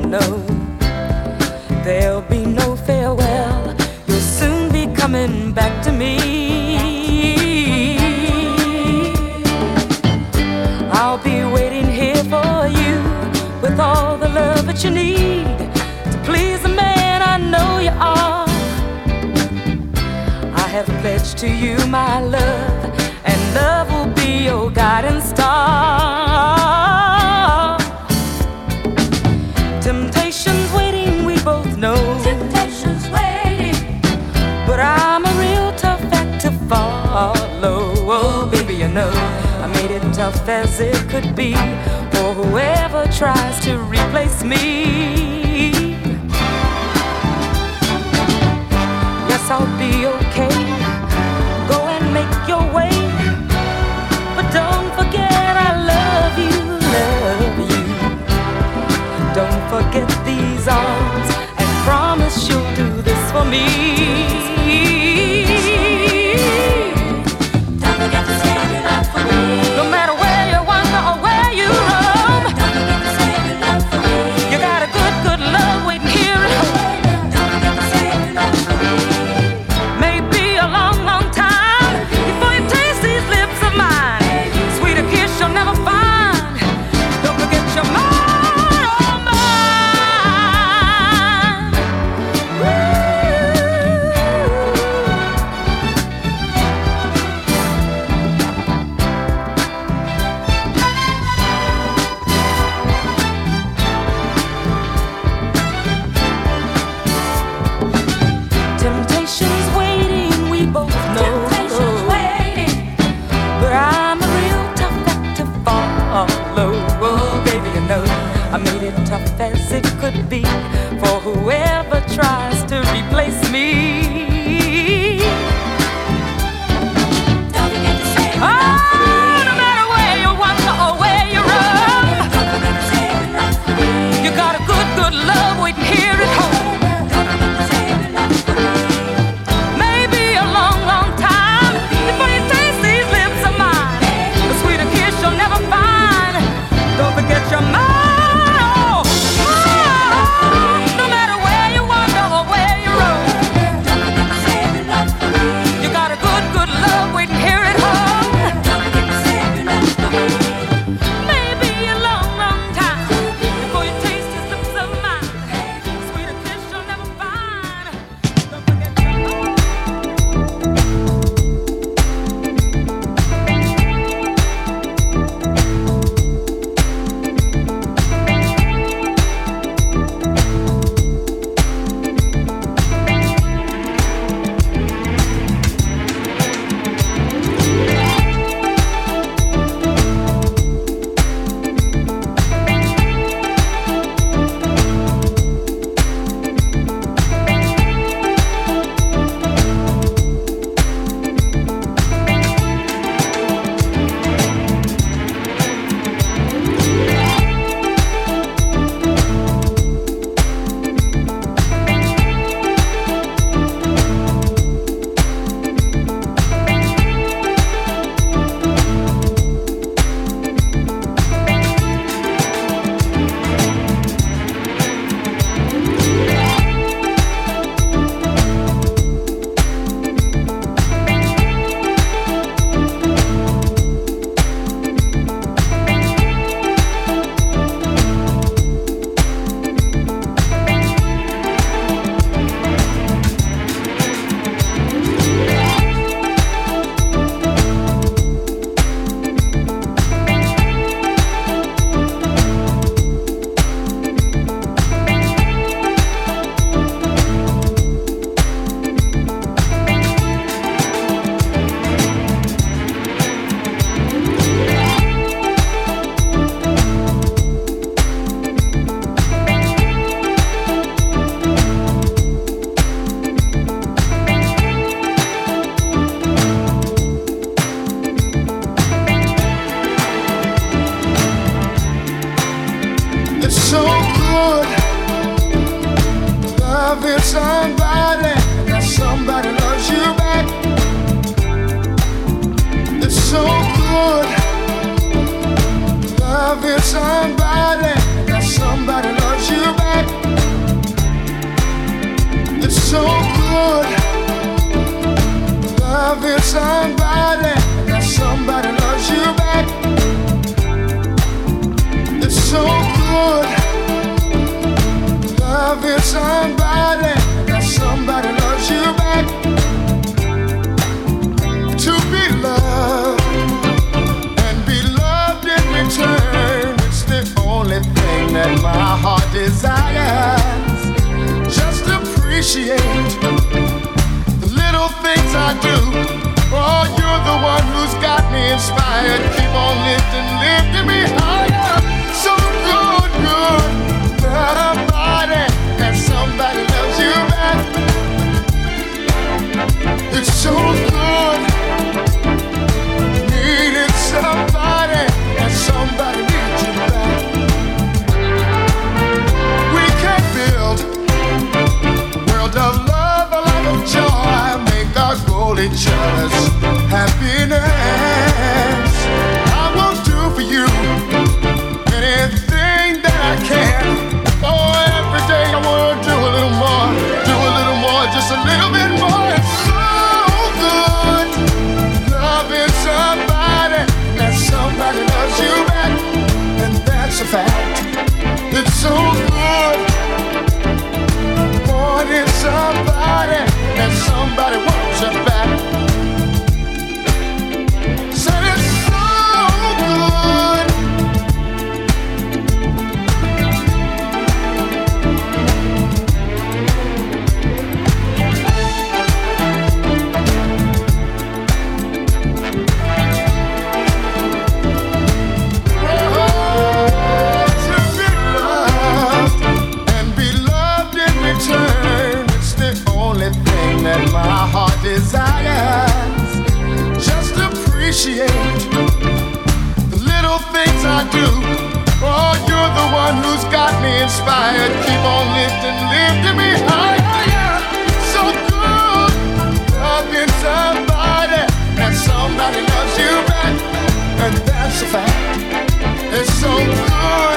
no. There'll be no farewell. You'll soon be coming back to me. I'll be waiting here for you with all the love that you need to please the man I know you are. I have pledged to you my love, and love will be your guiding star. Temptation's waiting, we both know. Temptation's waiting, but I'm a real tough act to follow. Oh, baby, you know I made it tough as it could be for whoever tries to replace me. Yes, I'll be okay. Go and make your way, but don't forget I love you, love you. Don't forget these arms and promise you'll do this for me. don't forget to say your love for me. No matter where you wander or where you roam, Don't forget to say your love for me. you got a good, good love waiting here at home. Don't forget to say your love for me. Maybe a long, long time before you taste these lips of mine. Sweeter kiss you'll never find. Don't forget your mind, oh mine. Temptation's waiting, we both know. Temptation's waiting, But I'm a real tough act to follow. Oh, baby, you know I made it tough as it could be for whoever tries to replace me. don't forget to say your Oh, love for me. no matter where you wander or where you roam, Don't forget to say your love for me. you got a good, good love waiting here at home. Don't forget to say your love for me. Maybe a long, long time before you taste these lips of mine. The sweeter kiss you'll never find. Don't forget your mind. Oh, no matter where you wander or where you roam, Don't forget to say your love for me. you got a good, good love waiting here at home. Don't forget to say your love for me. Maybe a long, long time before you taste these lips of mine. The sweeter kiss you'll never find. Don't forget your mind. somebody, that somebody loves you back. It's so good loving somebody, that somebody loves you back. somebody, that somebody loves you back. To be loved and be loved in return, it's the only thing that my heart desires. Just appreciate the little things I do. Oh, you're the one who's got me inspired. Keep on lifting me higher. So good, somebody, and somebody loves you back. It's so good, needing somebody, and somebody needs you back. We can build a world of love, a life of joy, make our goal each other's happiness. I will do for you anything that I can. Oh, every day I wanna do a little more, just a little bit more. It's so good, loving somebody, that somebody loves you back, and that's a fact. It's so good, wanting somebody, that somebody wants you back. Said it's so good. That my heart desires. Just appreciate the little things I do. Oh, you're the one who's got me inspired. Keep on lifting me higher. So good, loving somebody, and somebody loves you back, and that's a fact. It's so good,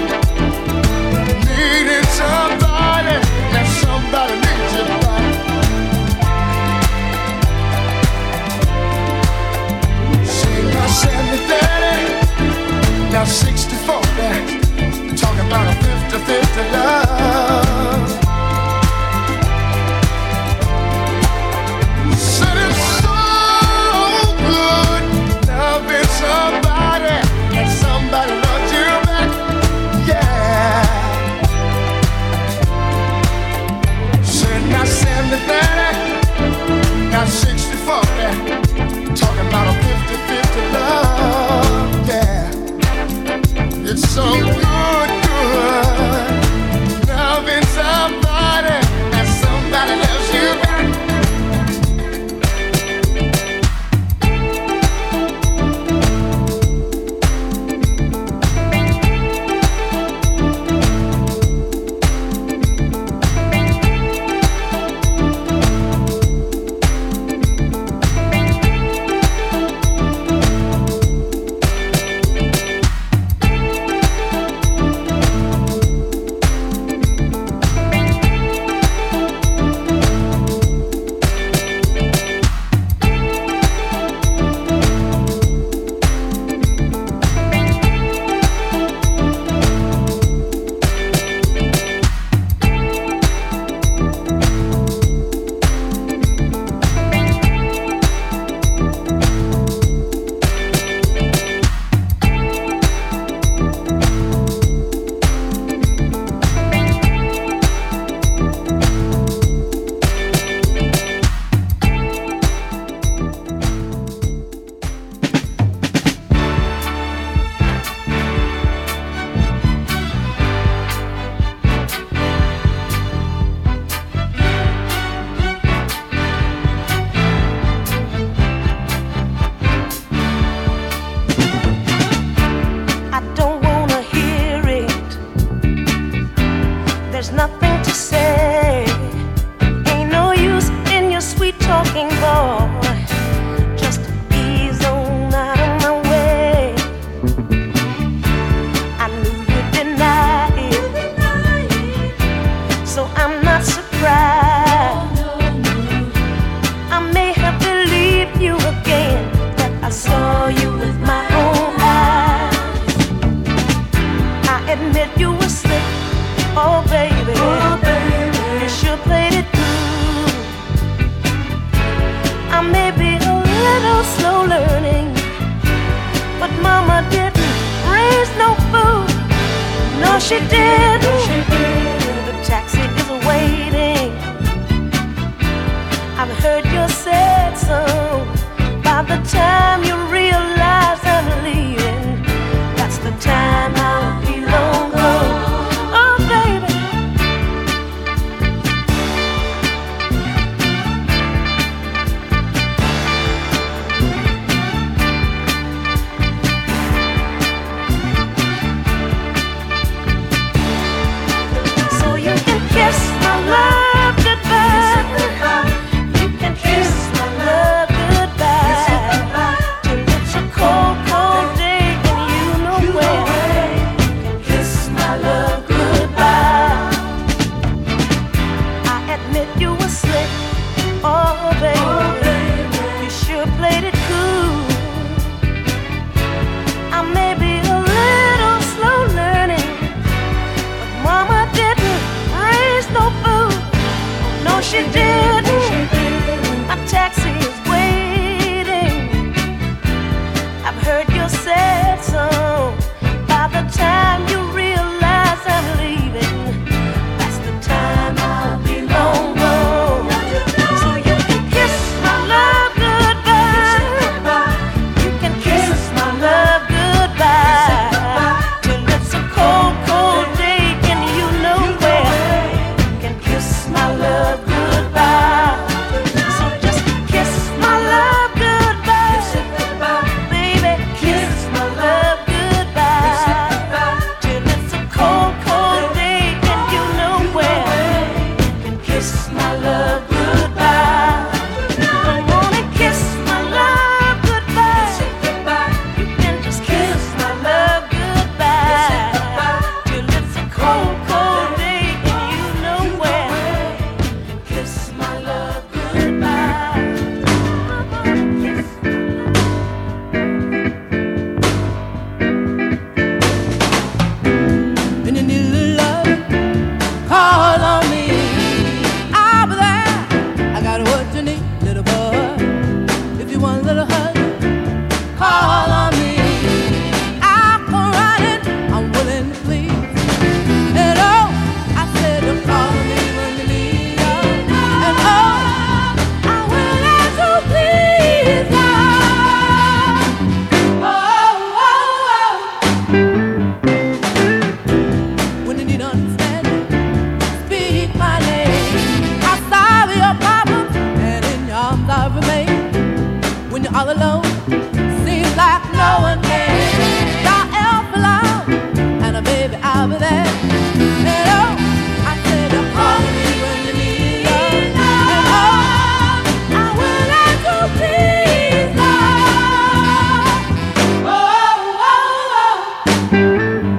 needing somebody, and somebody needs you back. Now 70-30, now 60-40, talking about a 50-50 love. Said it's so good, loving somebody, and somebody loves you back, yeah. Said now 70-30, now 60-40, talking about a 50-50 love, yeah. It's so good, loving somebody, and somebody loves you back. admit you were slick. Oh, baby. Oh, baby. she didn't. The taxi is waiting. I've heard your sad song. By the time you realize I'm leaving, that's the time I'll be long gone. Oh, baby. So you can kiss my love goodbye. You can kiss my love goodbye. Till it's a cold, cold day and you know where. You can kiss my love goodbye. I admit you were slick, oh baby. You sure played it cool. I may be a little slow learning, but Mama didn't raise no fool. No, she didn't. My taxi is waiting. I've heard your sad song. By the time you realize I'm leaving, that's the time I'll be long gone. So you can kiss my love goodbye. You can kiss my love goodbye. Till it's a cold, cold day and you know where. You can kiss my love goodbye. So just kiss my love goodbye. Baby, kiss my love goodbye. Till it's a cold, cold day and you know where. You can kiss my love goodbye. Don't wanna kiss my love goodbye. You can just kiss my love goodbye. Till it's a cold, cold day and you know where. Kiss my love goodbye. When you need a little love, call on me. I'll be there. I got what you need, little boy. If you want a little hug, call on me. I'll come running. I'm willing to please. Hello, I said to call me when you need love. And oh, I'm willing to please, love. Oh, oh, oh. When you need understanding, speak my name. I'll solve your problems, and in your arms I'll remain. When you're all alone, seems like no one cares. You're help alone, and baby I'll be there. Hello, I said to call me when you need love. And oh, I'm willing to please, love. Oh, oh, oh.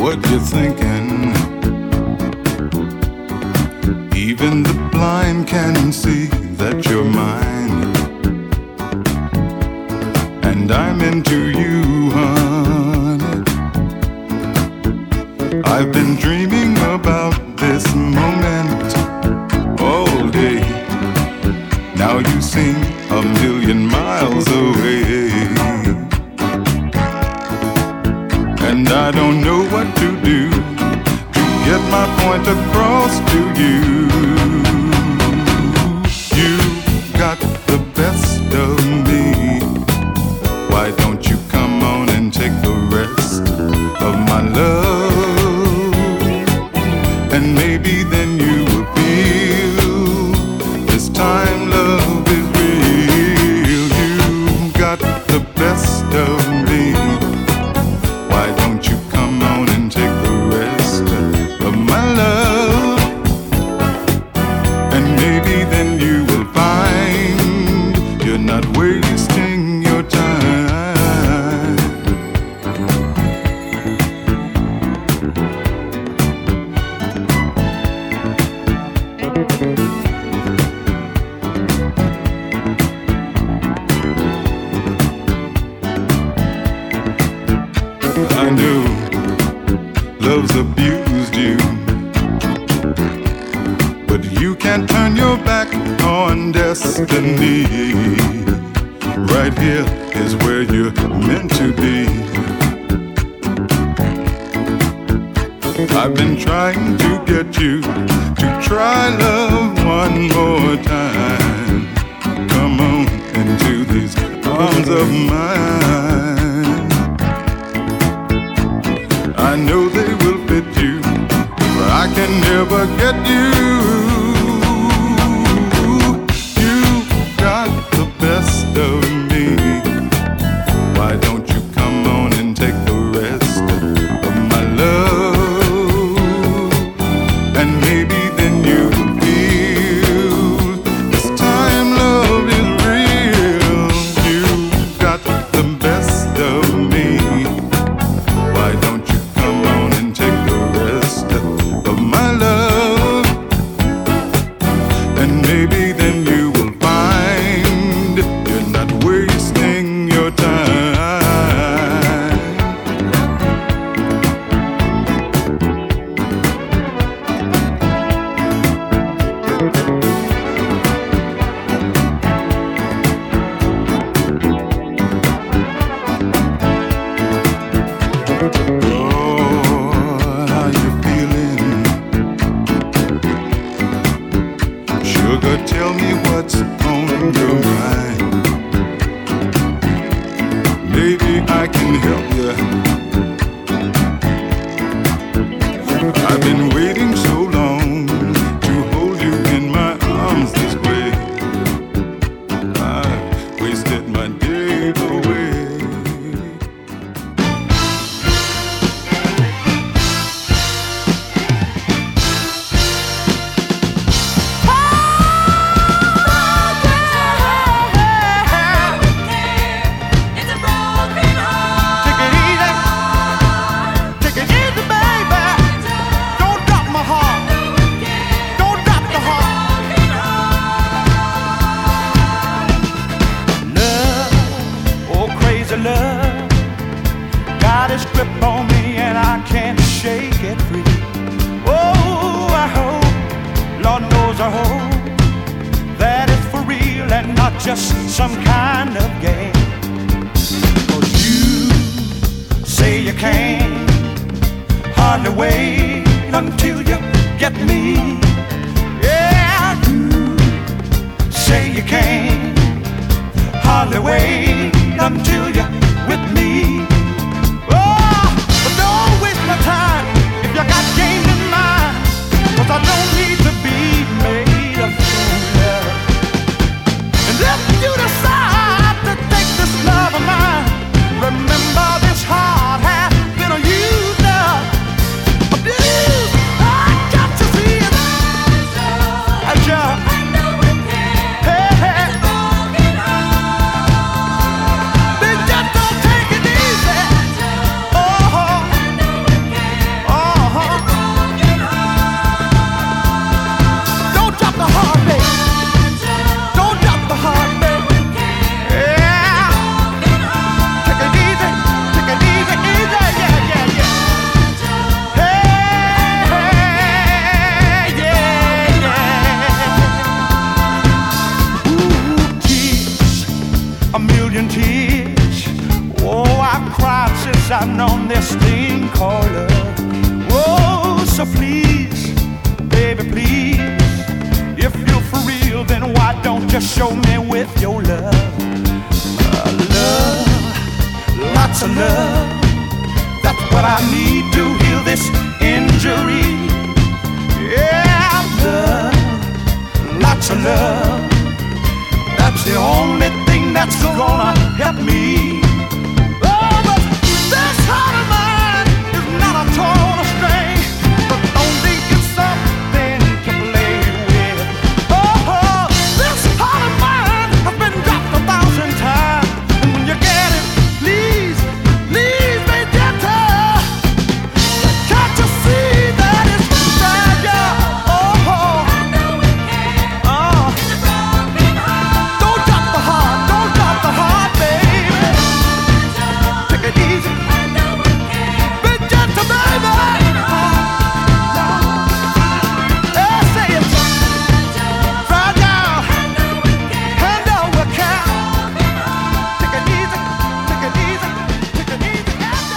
what you're thinking. Even the blind can see that you're mine, and I'm into you, honey. I've been dreaming about this moment all day. Now you seem a million miles away, and I don't know what to do to get my point across to you. You got the best of me. Why don't you come on and take the rest of my love? And maybe then you will feel this time love is real. You got the best of me. Why don't you come on and take the rest of my love? And maybe then you will find you're not wasting your time. I know love's abused you, but you can't turn your back on destiny. Right here is where you're meant to be. I've been trying to get you to try love one more time. Come on into these arms of mine. I know they will fit you, but I can never get you. You got the best of me. Why don't you come on and take the rest of my love? And maybe then you will feel this time love is real. You got the best of me. Why don't you come on and take the rest of my love? And maybe then you will find you're not wasting your time. Lord, how you feeling? Sugar, tell me what's on your mind. Maybe I can help you. I've been waiting so long to hold you in my arms this way. I wasted my day away. It's a broken heart. Take it easy, baby. Don't drop my heart. Don't drop the heart. Love, oh crazy love, got its grip on me and I can't shake it free. Oh, I hope, Lord knows I hope, that it's for real and not just some kind of game. 'Cause you say you can't hardly wait until you get me. Yeah, you say you can't hardly wait until you're with me. Oh, but don't waste my time if you got game in mind, 'cause I don't need to be made a fool of. And if you decide to take this love of mine, remember this heart has been used up, abused. I got to see it. I just, hey, hey. Big shouting on this thing called love. Oh, so please, baby, please, if you're for real, then why don't you show me with your love? Love, lots of love. That's what I need to heal this injury. Yeah, love, lots of love. That's the only thing that's gonna help me. Oh, but this heart of mine is not a torn string, but only it's something to play with. Oh, this heart of mine has been dropped 1,000 times, and when you get it, please, please be gentle. Can't you see that it's fragile? Oh, I know it can. Oh. Don't drop the heart, baby. Take it easy. Be gentle, baby. Yeah, say it. Fragile. I know we can. Take it easy. Take it easy. Take it easy.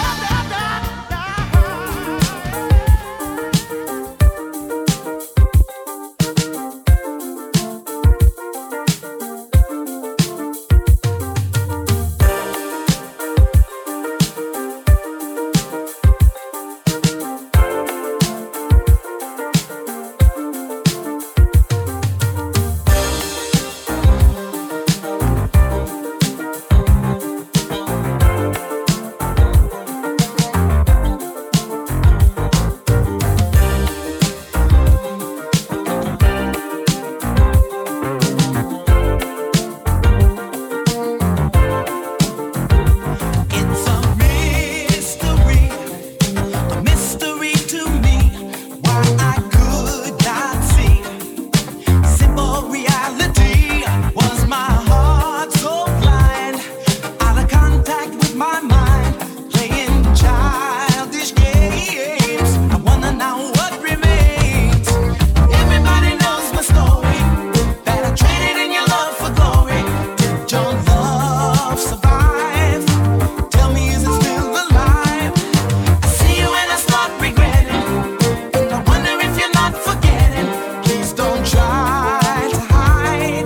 It's a mystery to me, why I could not see. Simple reality, was my heart so blind, out of contact with my mind, playing childish games. I wanna know what remains. Everybody knows my story, that I traded in your love for glory. Did your love survive? Tell me, is it still alive? I see you and I start regretting, and I wonder if you're not forgetting. Please don't try to hide.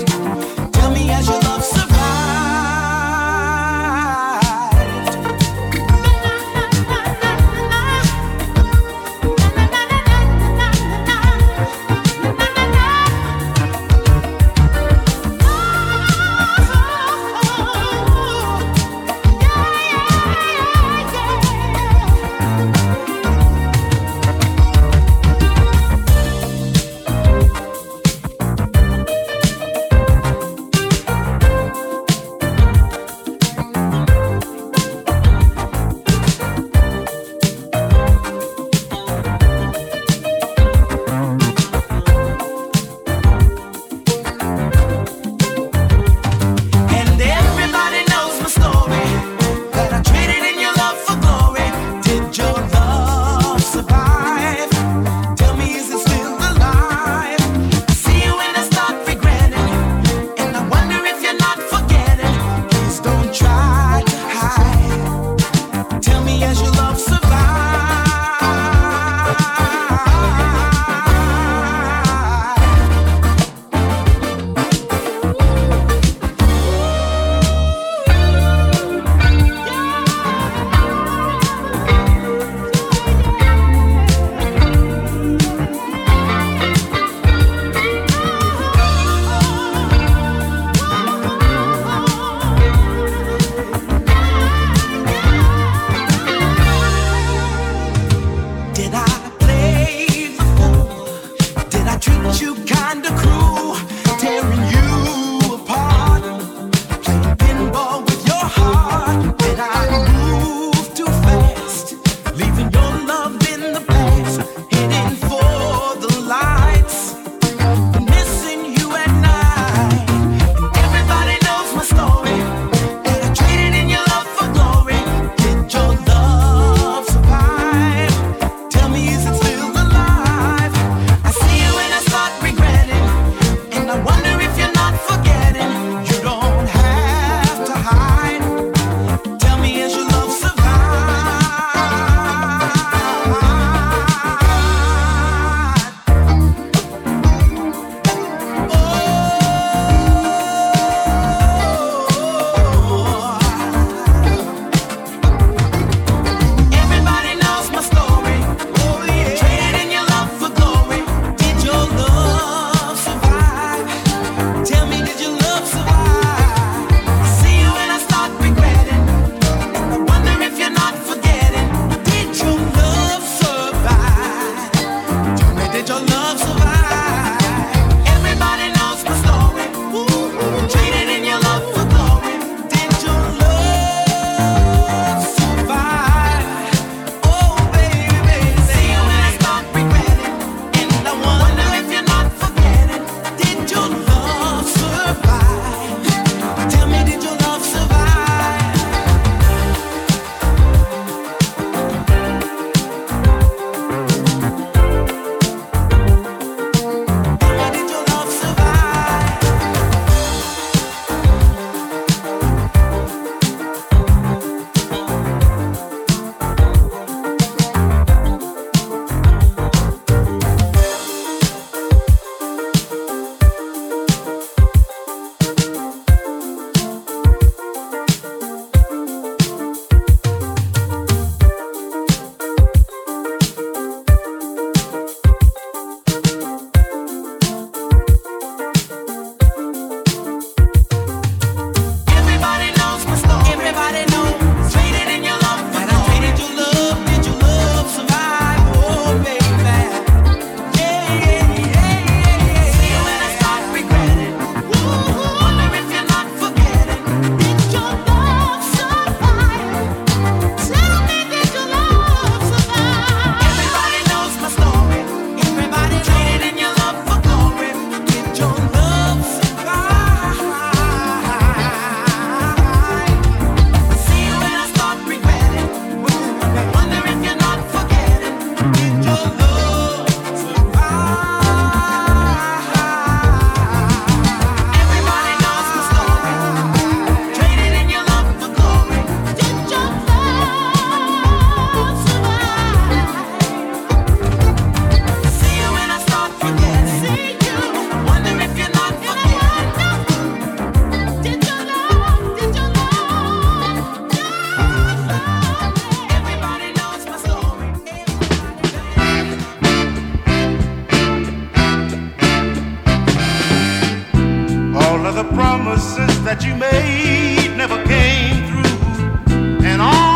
the promises that you made never came through, and all